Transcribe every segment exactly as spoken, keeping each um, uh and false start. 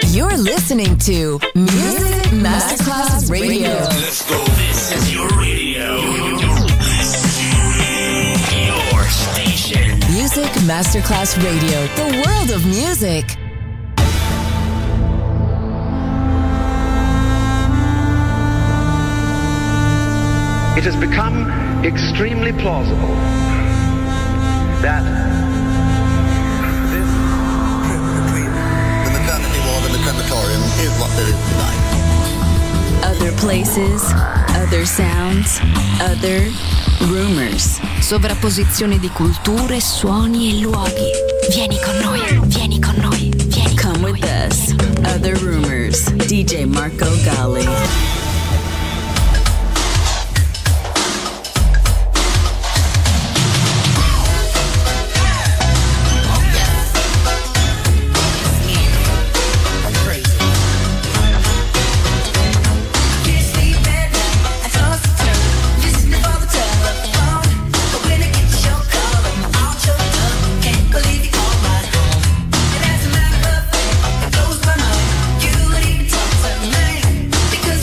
You're listening to Music Masterclass Radio. Let's go. This is your radio. Your station. Music Masterclass Radio. The world of music. It has become extremely plausible that this trip between the maternity ward and the crematorium is what there is tonight. Other places, other sounds, other rumors. Sovrapposizione di culture, suoni e luoghi. Vieni con noi, vieni con noi, vieni con Come with us. Other rumors. D J Marco Gally. Because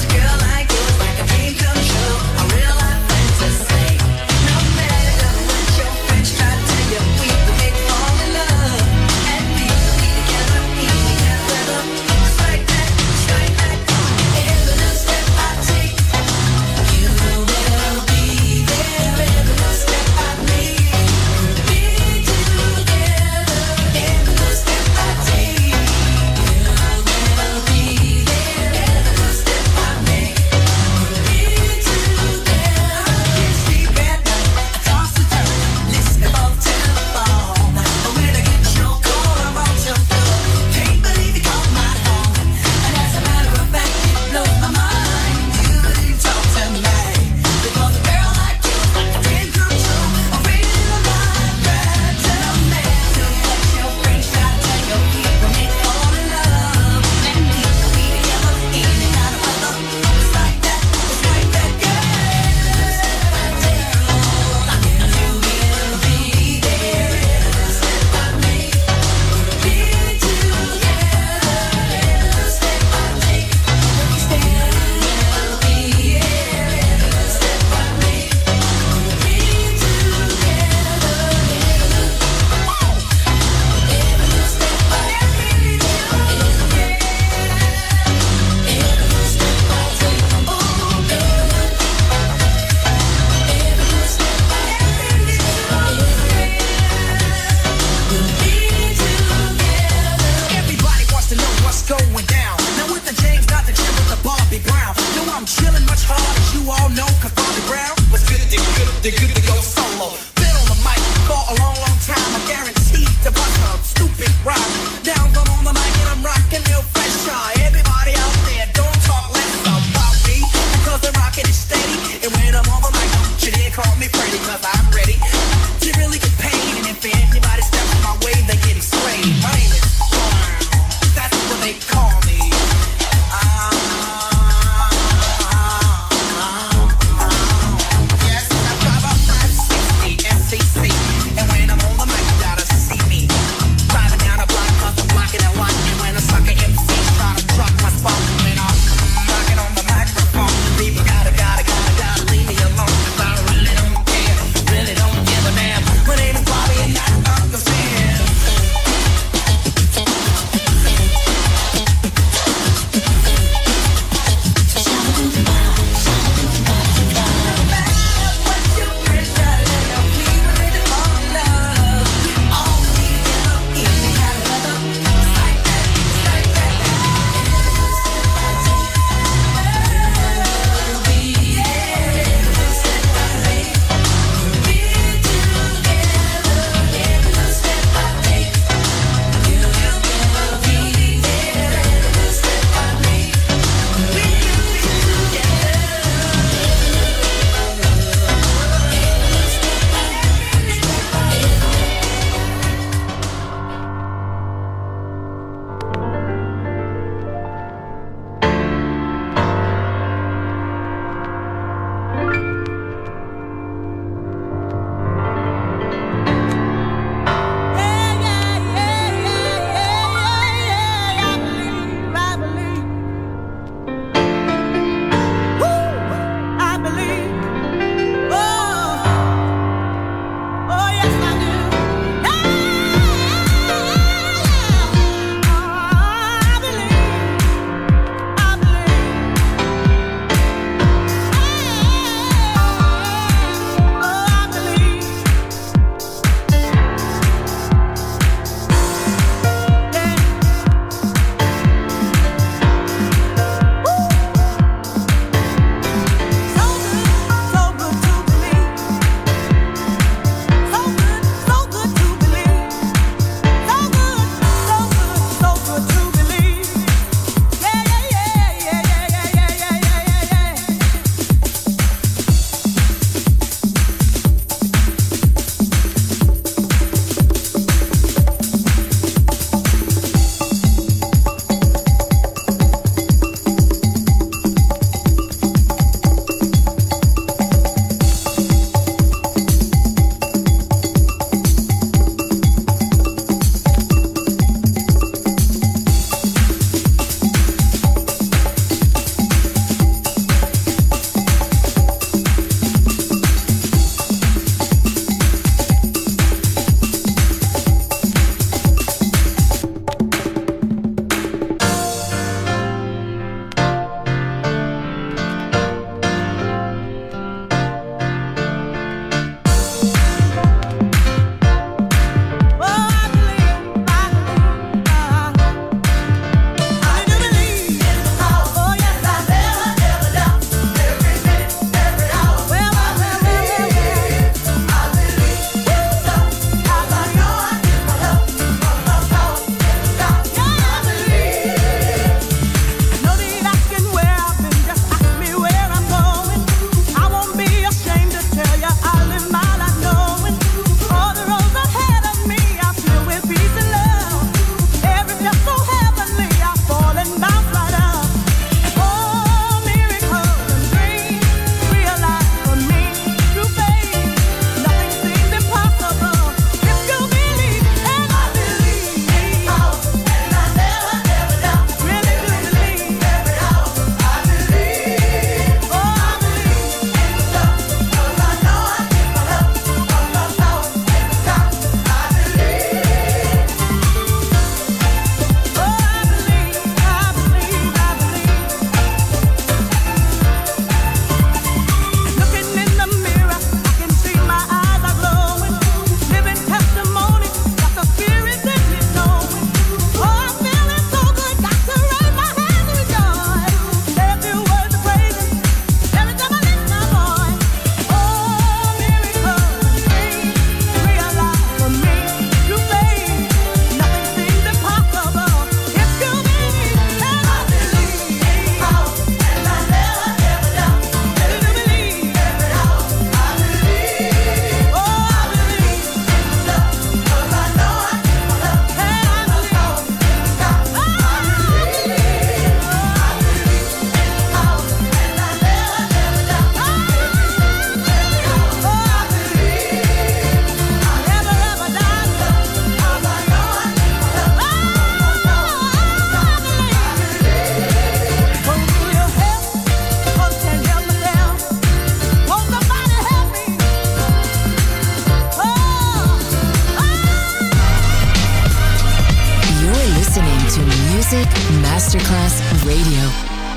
Music Masterclass Radio.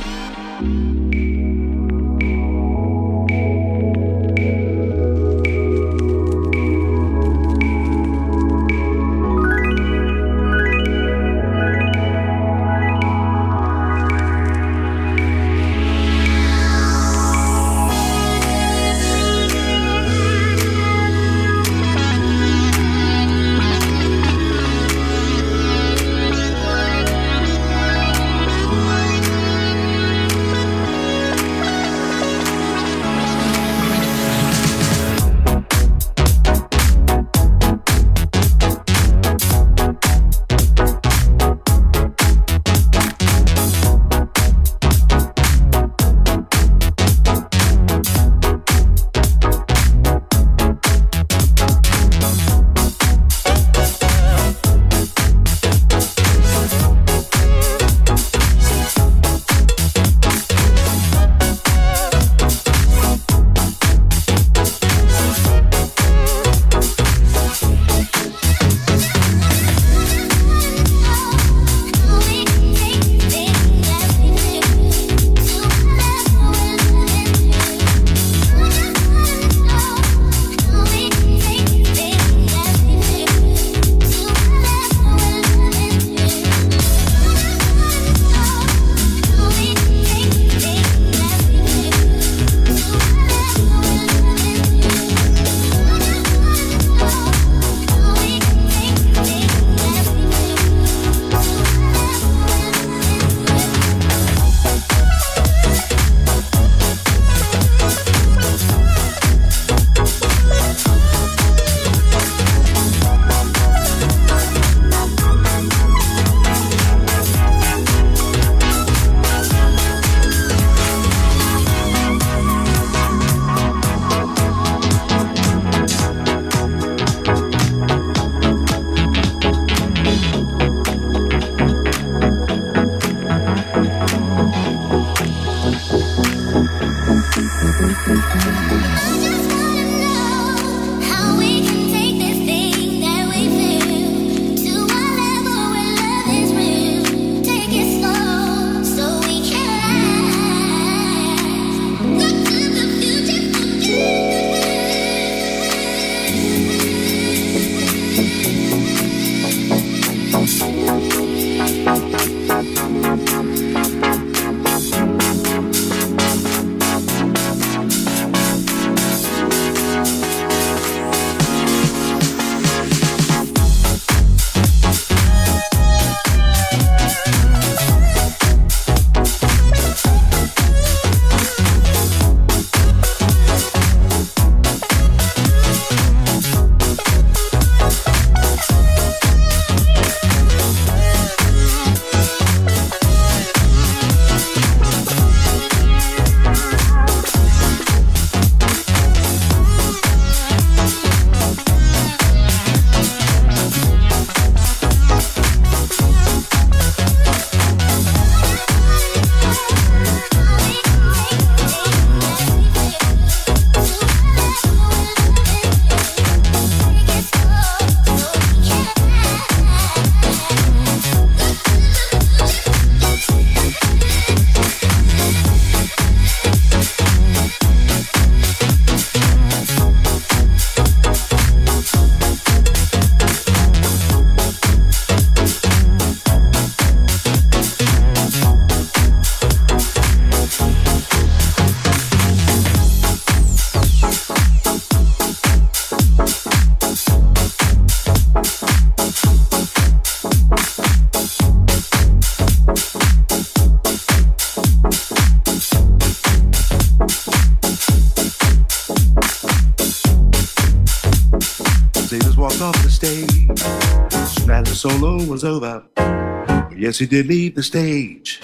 Solo was over. Yes, he did leave the stage,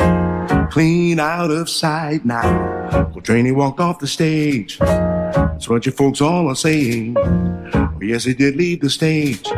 clean out of sight now. Coltrane walked off the stage. That's what you folks all are saying. Yes, he did leave the stage,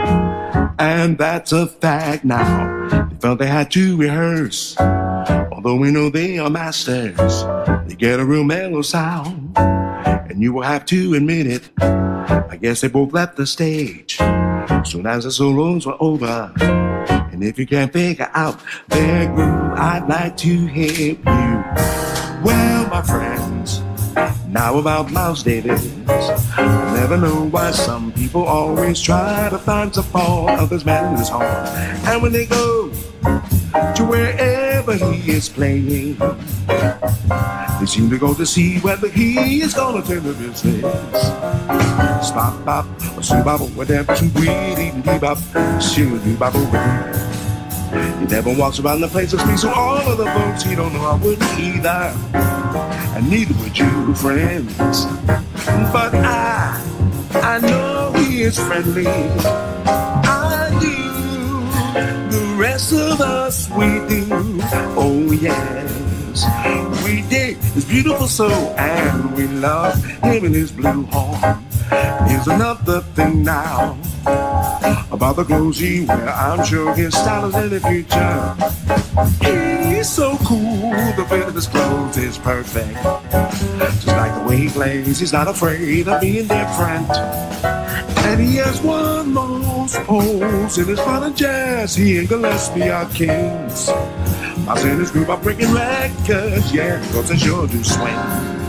and that's a fact now. They felt they had to rehearse, although we know they are masters. They get a real mellow sound, and you will have to admit it. I guess they both left the stage soon as the solos were over. And And if you can't figure out their groove, I'd like to help you. Well, my friends, now about Miles Davis. I never know why some people always try to find some fault of this man's heart. And when they go to wherever he is playing, they seem to go to see whether he is gonna turn the business. Stop, bop, shoo bop, whatever, shoo dee dee bop, shoo dee bop. He never walks around the place and speaks to all of the folks he don't know. I wouldn't either, and neither would you, friends. But I, I know he is friendly. I do. The rest of us, we do. Oh yes, we dig his beautiful soul, and we love him and his blue horn. Here's another thing now about the clothes he wear. I'm sure his style is in the future. He's so cool, the fit of his clothes is perfect. Just like the way he plays, he's not afraid of being different. And he has won most polls in his fun and jazz. He and Gillespie are kings. Miles and his group are breaking records, yeah, cause they sure do swing.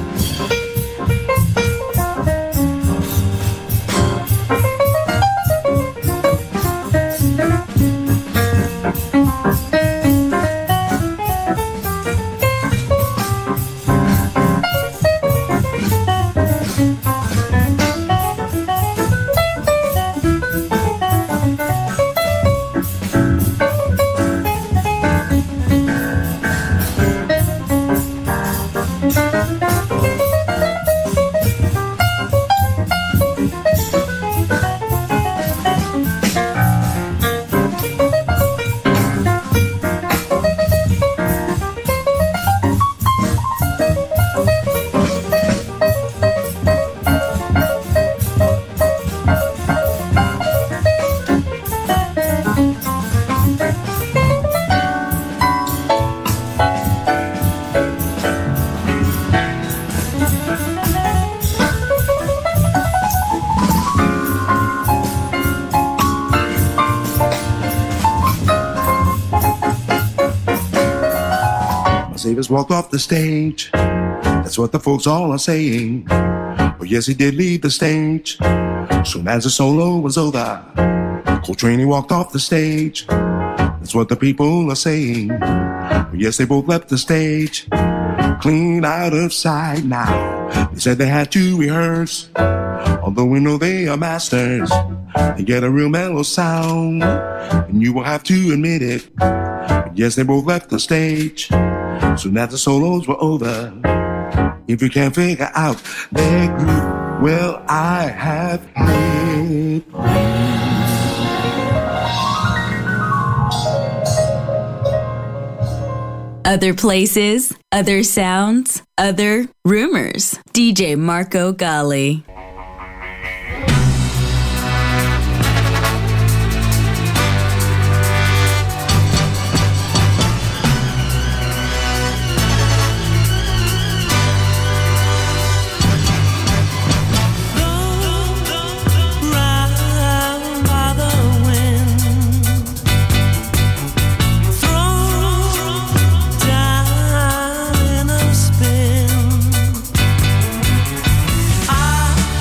Davis walked off the stage. That's what the folks all are saying. But yes, he did leave the stage. Soon as the solo was over, Coltrane, he walked off the stage. That's what the people are saying. But yes, they both left the stage, clean out of sight now. They said they had to rehearse, although we know they are masters. They get a real mellow sound, and you will have to admit it. But yes, they both left the stage soon as the solos were over. If you can't figure out their groove, well, I have hit. Other places, other sounds, other rumors. D J Marco Gally. I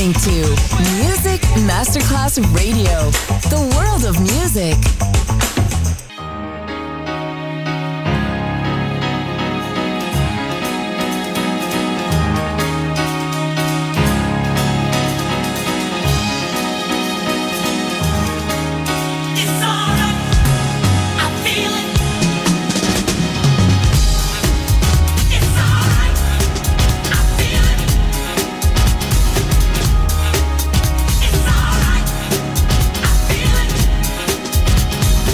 listening to Music Masterclass Radio, the world of music. It's alright.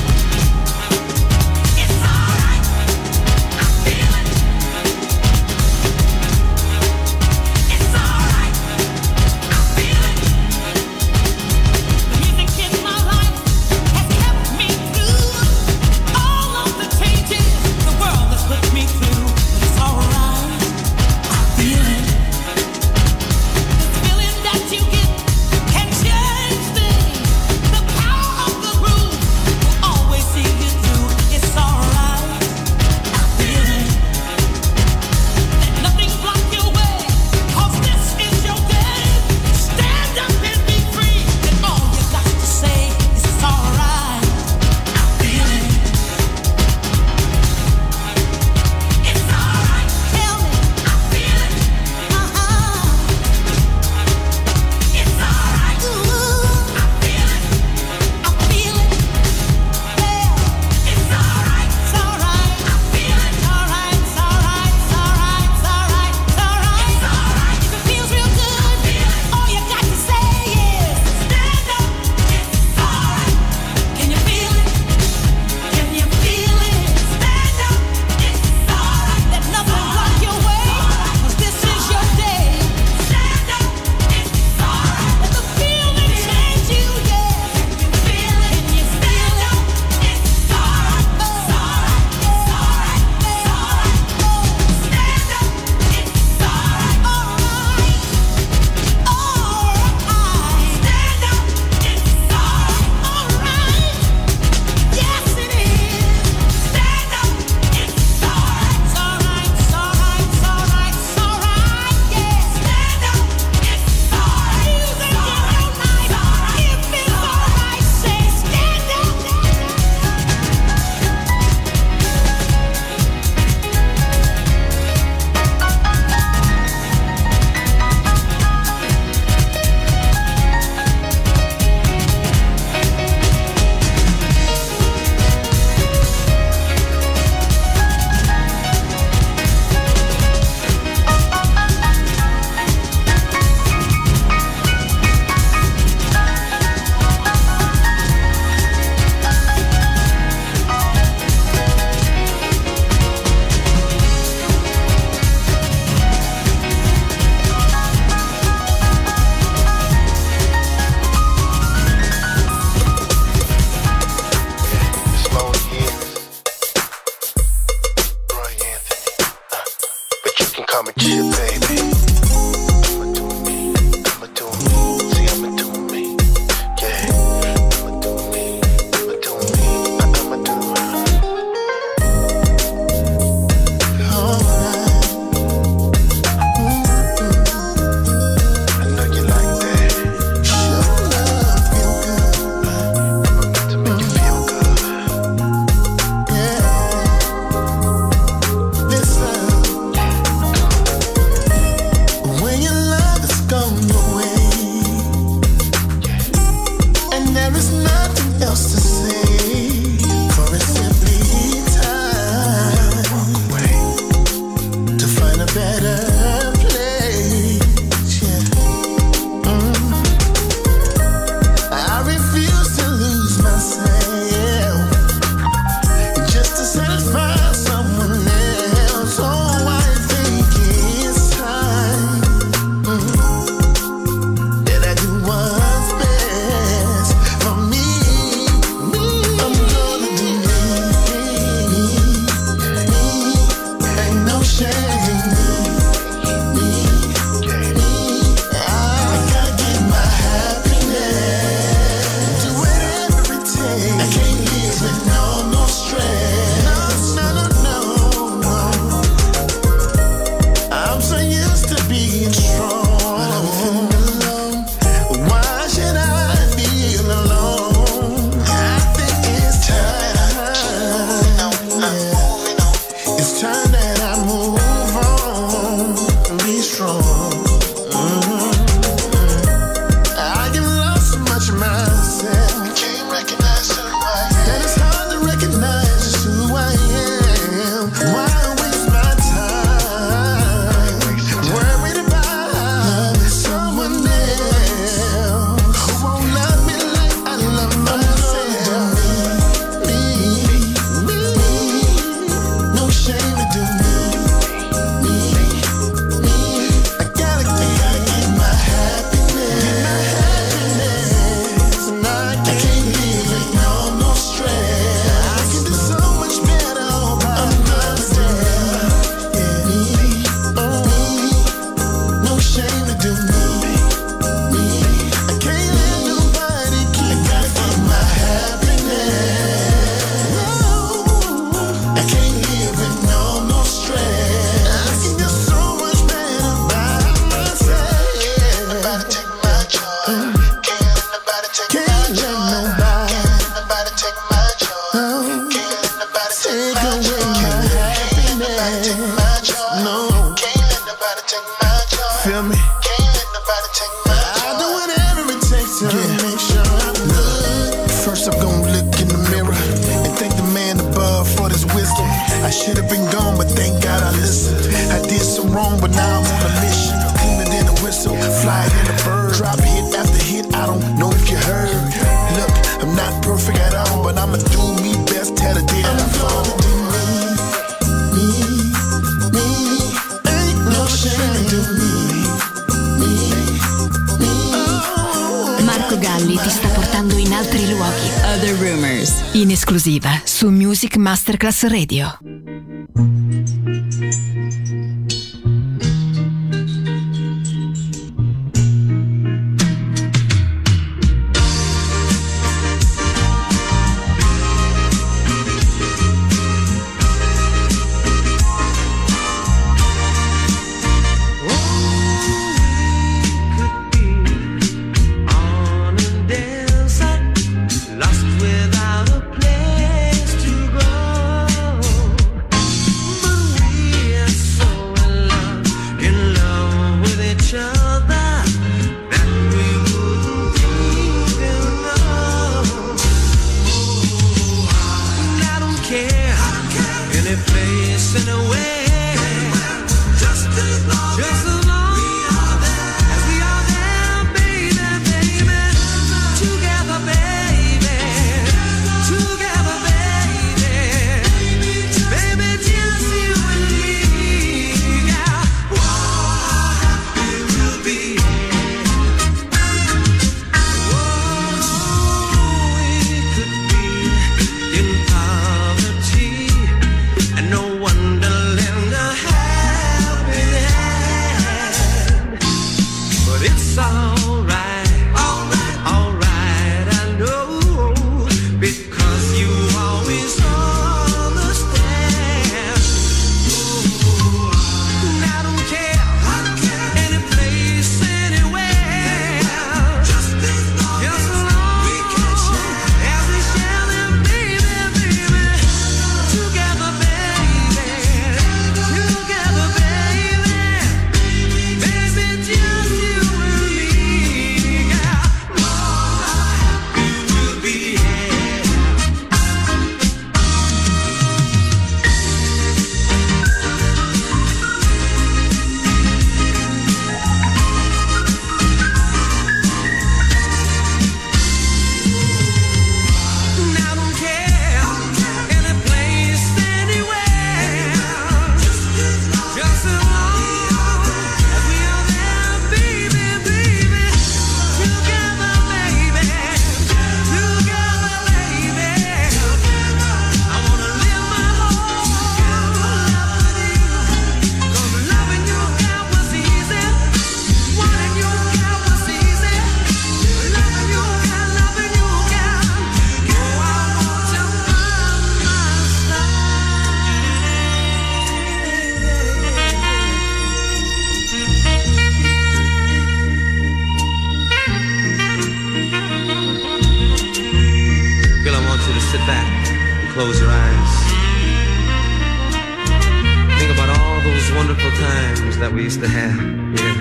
feel me? Can't let nobody take my joy. I'll do whatever it takes to yeah. make sure I'm good. First I'm gonna look in the mirror and thank the man above for this wisdom. I should have been gone, but thank God I listened. I did some wrong, but now I'm on a mission. Cleaner than a whistle, fly in a bird. Drop hit after hit, I don't know if you heard. Look, I'm not perfect at all, but I'ma do me best. Tell the day that I fall. Me, me, me, ain't no shame to me. Me, me. Marco Galli ti sta portando in altri luoghi. Other Rumors, in esclusiva su Music Masterclass Radio. Close your eyes. Think about all those wonderful times that we used to have. Yeah.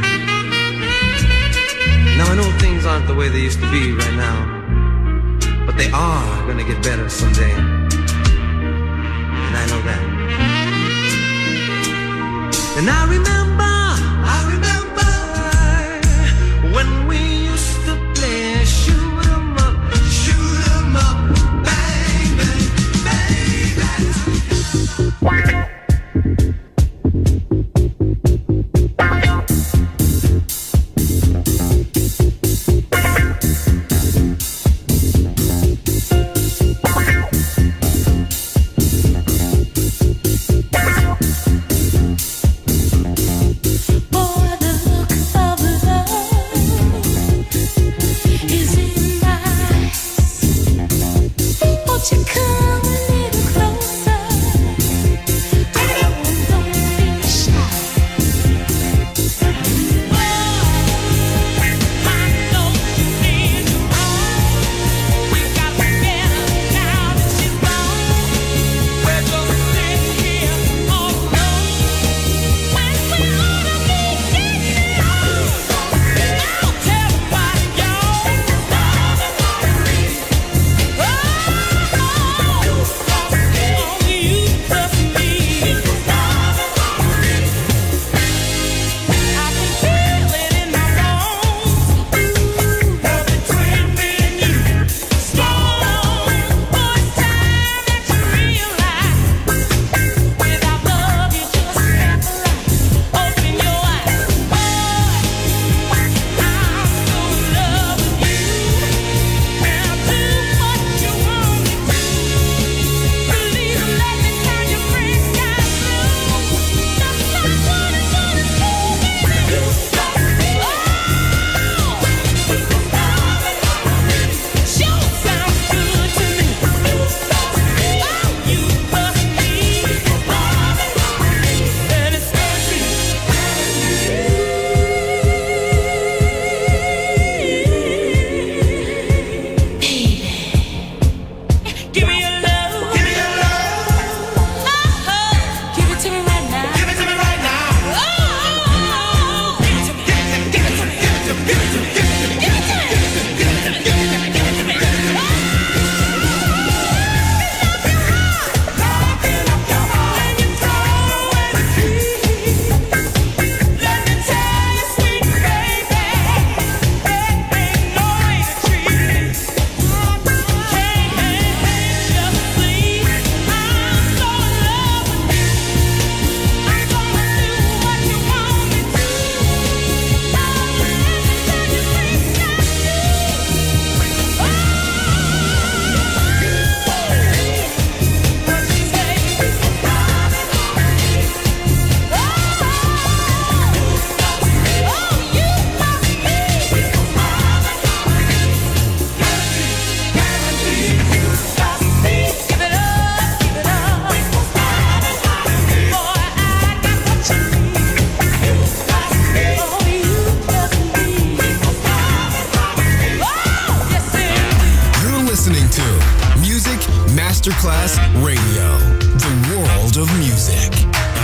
Now I know things aren't the way they used to be right now, but they are gonna get better someday. And I know that. And I remember, I remember when we used to play shoot 'em up, shoot 'em up. Masterclass Radio, the world of music.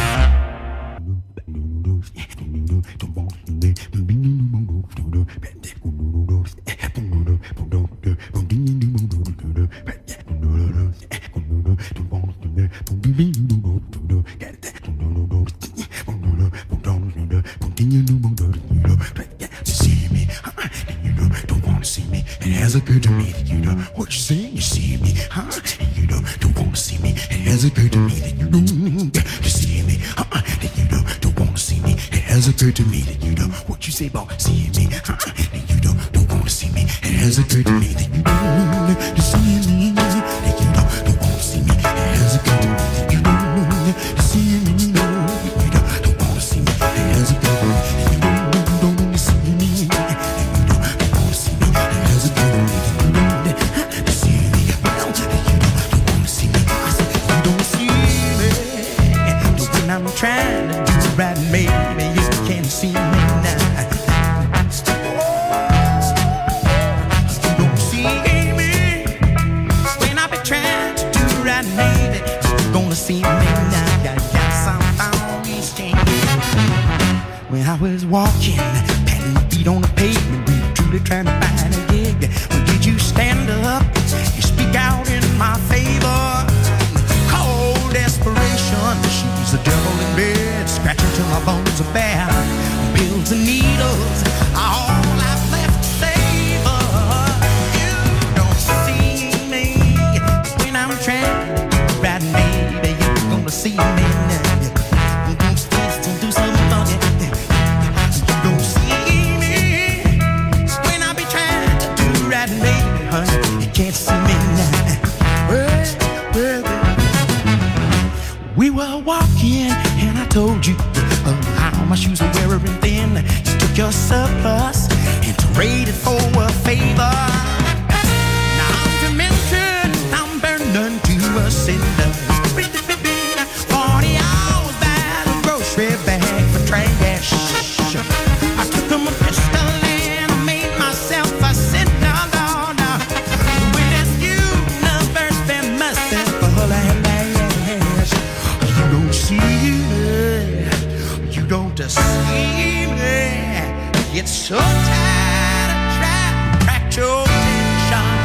It has occurred to me that you know what you say. You see me, huh? And you don't, don't want to see me. It has occurred to me that you don't you see me, huh? And you don't, don't want to see me. It has occurred to me that you know what you say about seeing me, huh? And you don't, don't want to see me. It has occurred to me that you don't you see me, and you don't, don't want to see me. It has occurred to me that you don't you see me, no, you don't, don't want to see me. It has occurred to me that you don't, don't see me. I'm trying to do right, maybe you can't see me now. You don't see me when I be trying to do right, maybe you're gonna see me now. Got got some on these chains. When I was walking, patting my feet on the pavement, really truly trying to find a gig. When did you stand up? You speak out in my favor. Cold desperation, she's the devil in bed, scratching till my bones are bare. Pills and needles are all I've left to savor. You don't see me when I'm trying to ride, maybe you're gonna see me now. You don't still do something for you. You don't see me when I be trying to do right, maybe, honey, you can't see me now. Well, well, we were walking and I told you uh, how my shoes were wearing thin. You took your surplus and traded for a favor. Now I'm demented, I'm burning to a cinder. Forty hours by the grocery bag for trash. I took him a pistol and I made myself a sinner. No, no. With this universe been merciful and lash. You don't see me, you don't see me. It's so tired of trying to crack your attention.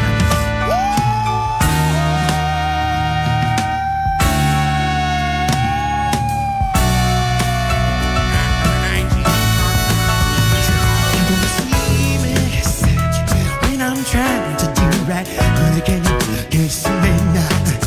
You don't see me when I'm trying to do right, honey, can you, can you see me now?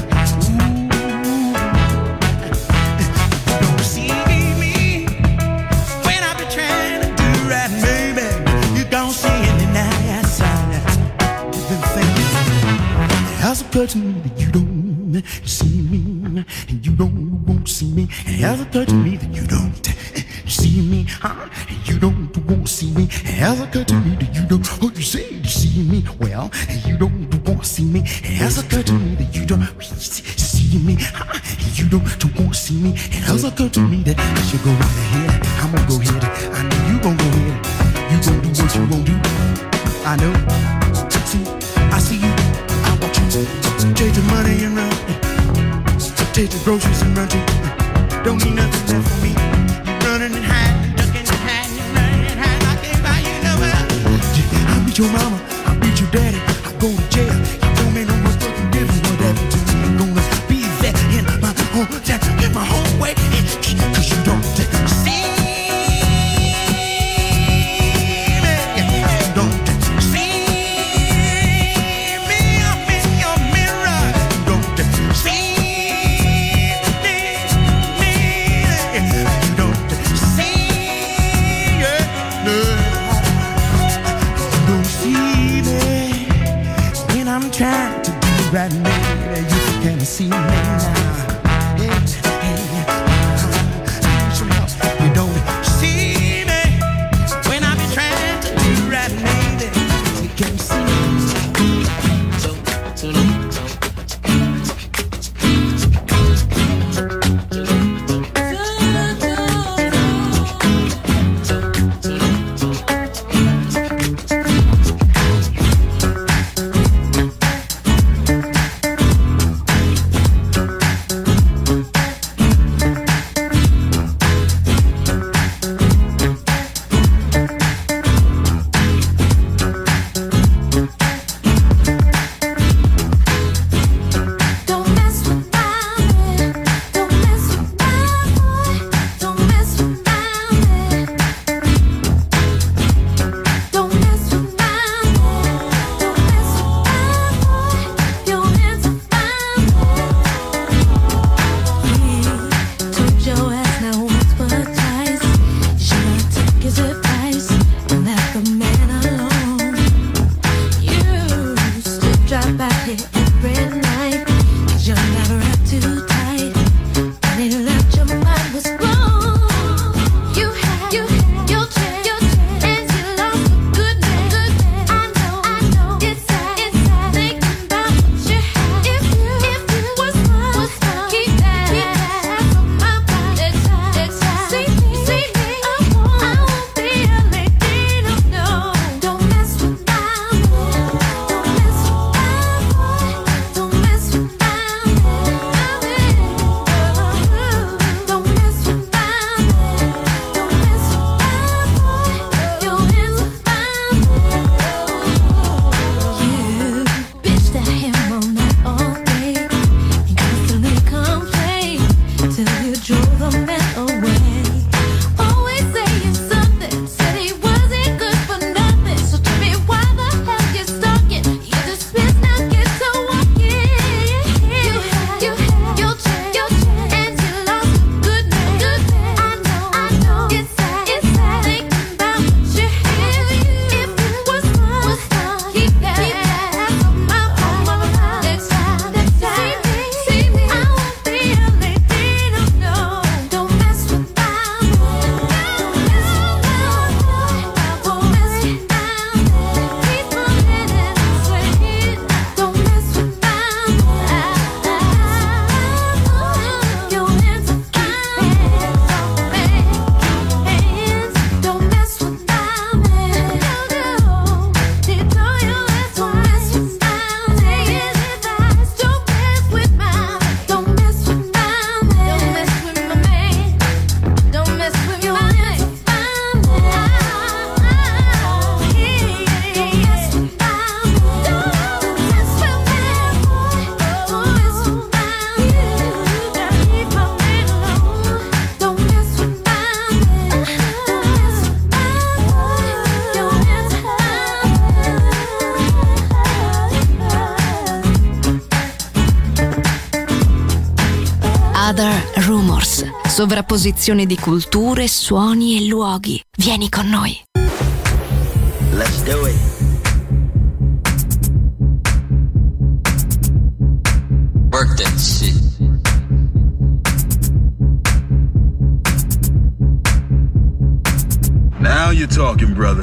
Occurred to me that you don't see me, and you don't won't see me. It has occurred to me that you don't see me, huh? And you don't won't see me. It has occurred to me that you don't. Oh, you say you see me, well, and you don't won't see me. It has occurred to me that you don't see me, huh? And you don't won't see me. It has occurred to me that I should go right ahead. I'm gonna go ahead. I know you gonna go ahead. You gonna do what you gonna do. I know. See, I see you. Take the money and run. Take the groceries and run. Don't need nothing left for me. You're running and hiding, ducking and hiding, you're running and hiding. I can't buy you nowhere. I beat your mama, I beat your daddy. I go to jail. You don't make no much fucking difference what happened to me. I'm gonna be there in my home town, in my home way. Cause you don't see me. You don't see me. I'm in your mirror. You don't see me. You don't see it. No. You don't see me when I'm trying to do right, maybe you can see me now. Hey, hey, uh, you don't see me when I be trying to do right, maybe you can see me. So, so, so. Sovrapposizione di culture, suoni e luoghi. Vieni con noi. Let's do it. Work that shit. Now you're talking, brother.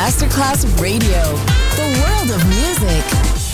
Masterclass Radio, the world of music.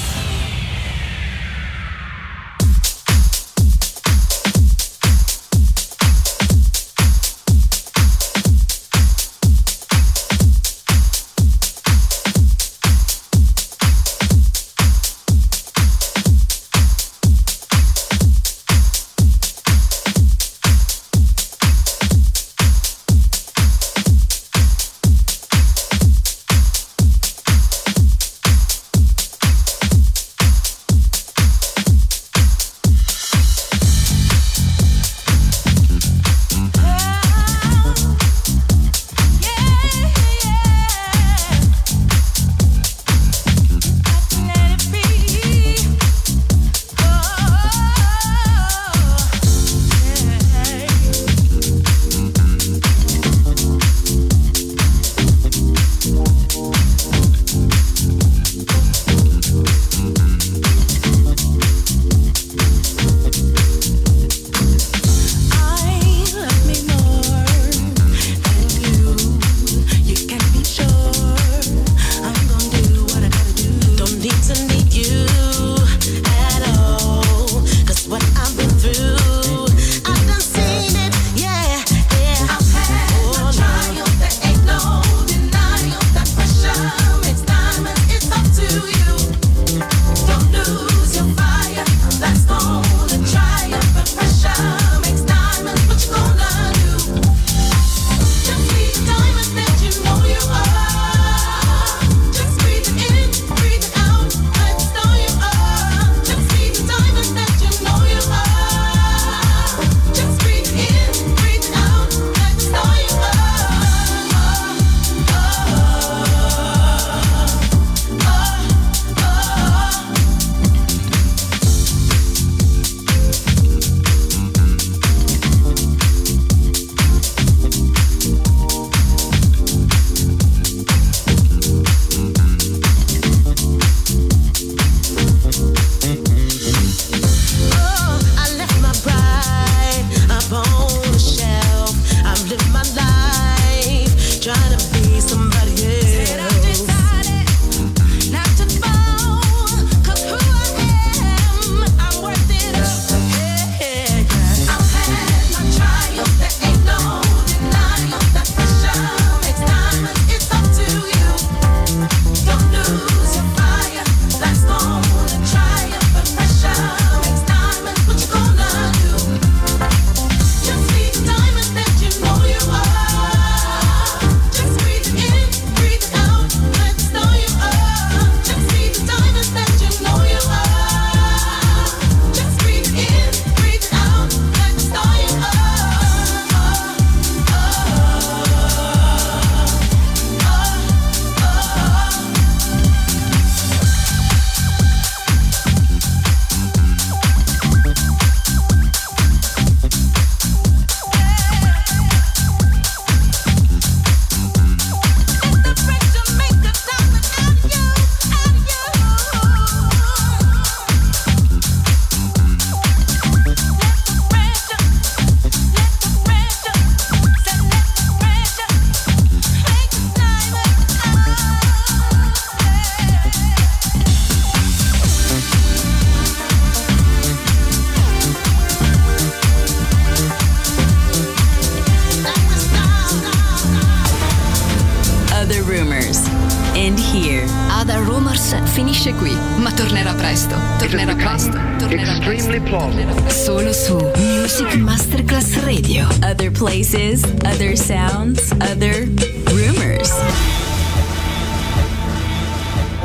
Finisce qui, ma tornerà presto. Tornerà presto. Tornerà presto. Tornerà presto. Solo su Music Masterclass Radio. Other places, other sounds, other rumors.